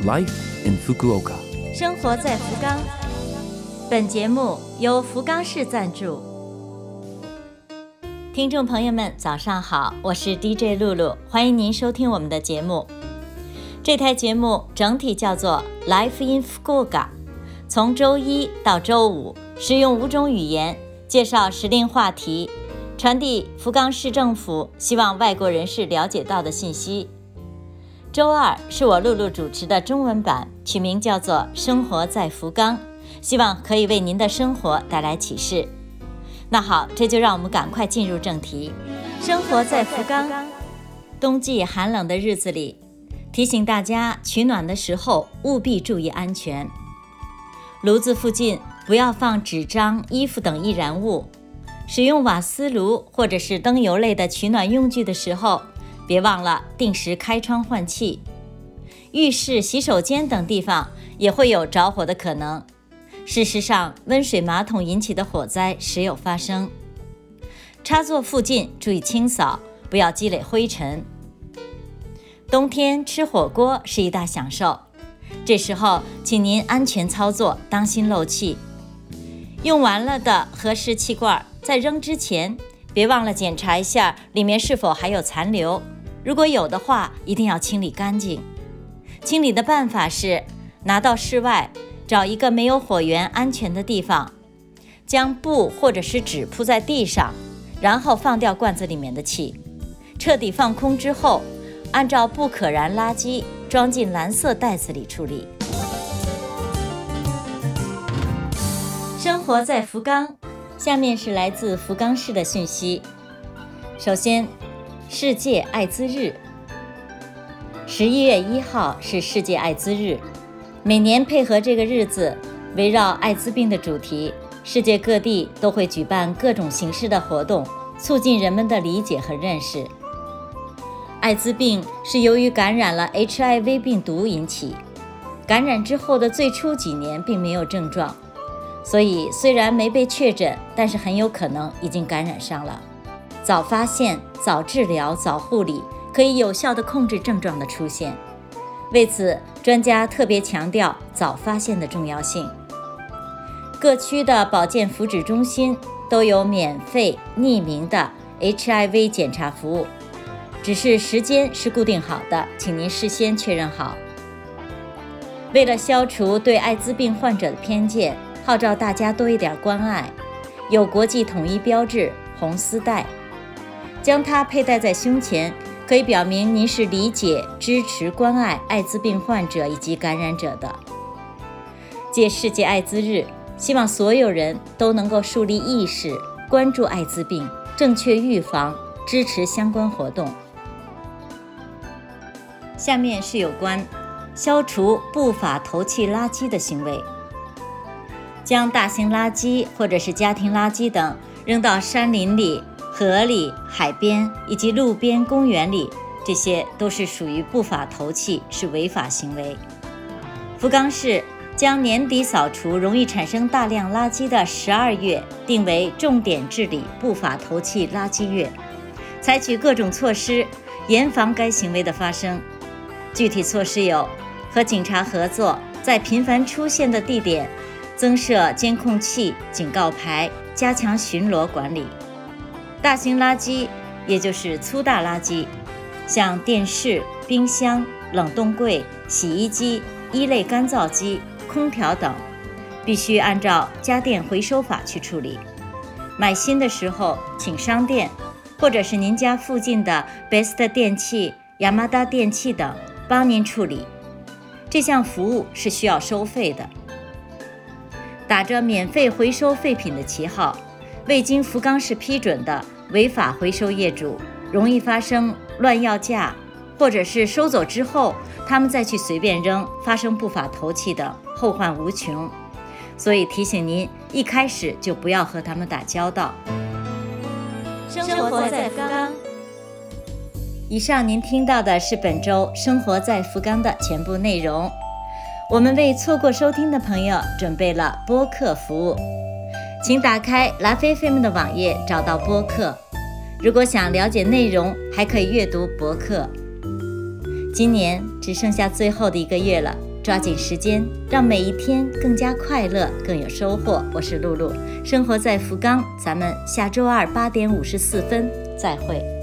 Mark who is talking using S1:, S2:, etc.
S1: Life in Fukuoka。
S2: 生活在福冈。本节目由福冈市赞助。听众朋友们，早上好，我是 DJ 露露，欢迎您收听我们的节目。这台节目整体叫做 Life in Fukuoka， 从周一到周五，使用5种语言介绍时令话题，传递福冈市政府希望外国人士了解到的信息。周二是我露露主持的中文版，取名叫做生活在福冈，希望可以为您的生活带来启示。那好，这就让我们赶快进入正题。生活在福冈，冬季寒冷的日子里，提醒大家取暖的时候务必注意安全。炉子附近不要放纸张、衣服等易燃物。使用瓦斯炉或者是灯油类的取暖用具的时候，别忘了定时开窗换气。浴室、洗手间等地方也会有着火的可能。事实上，温水马桶引起的火灾时有发生。插座附近注意清扫，不要积累灰尘。冬天吃火锅是一大享受，这时候请您安全操作，当心漏气。用完了的和氏气罐在扔之前，别忘了检查一下里面是否还有残留，如果有的话，一定要清理干净。清理的办法是拿到室外，找一个没有火源、安全的地方，将布或者是纸铺在地上，然后放掉罐子里面的气。彻底放空之后，按照不可燃垃圾装进蓝色袋子里处理。生活在福冈，下面是来自福冈市的讯息。首先，世界艾滋日。11月1号是世界艾滋日，每年配合这个日子，围绕艾滋病的主题，世界各地都会举办各种形式的活动，促进人们的理解和认识。艾滋病是由于感染了 HIV 病毒引起，感染之后的最初几年并没有症状，所以虽然没被确诊，但是很有可能已经感染上了。早发现、早治疗、早护理，可以有效地控制症状的出现。为此，专家特别强调早发现的重要性。各区的保健福祉中心都有免费匿名的 HIV 检查服务，只是时间是固定好的，请您事先确认好。为了消除对艾滋病患者的偏见，号召大家多一点关爱，有国际统一标志红丝带，将它佩戴在胸前，可以表明您是理解、支持、关爱艾滋病患者以及感染者的。借世界艾滋日，希望所有人都能够树立意识，关注艾滋病，正确预防，支持相关活动。下面是有关消除不法投弃垃圾的行为。将大型垃圾或者是家庭垃圾等扔到山林里、河里、海边以及路边公园里，这些都是属于不法投弃，是违法行为。福冈市将年底扫除容易产生大量垃圾的12月定为重点治理不法投弃垃圾月，采取各种措施严防该行为的发生。具体措施有：和警察合作，在频繁出现的地点增设监控器、警告牌，加强巡逻管理。大型垃圾，也就是粗大垃圾，像电视、冰箱、冷冻柜、洗衣机、衣类干燥机、空调等，必须按照家电回收法去处理。买新的时候，请商店或者是您家附近的 Best 电器、Yamada 电器等帮您处理。这项服务是需要收费的。打着免费回收废品的旗号，未经福冈市批准的违法回收业主，容易发生乱要价，或者是收走之后他们再去随便扔，发生不法投弃等，后患无穷。所以提醒您，一开始就不要和他们打交道。生活在福冈。以上您听到的是本周生活在福冈的全部内容。我们为错过收听的朋友准备了播客服务，请打开LiveFM的网页找到播客。如果想了解内容，还可以阅读博客。今年只剩下最后的1个月了， 抓紧时间，让每一天更加快乐，更有收获。我是露露，生活在福冈，咱们下周二8点54分再会。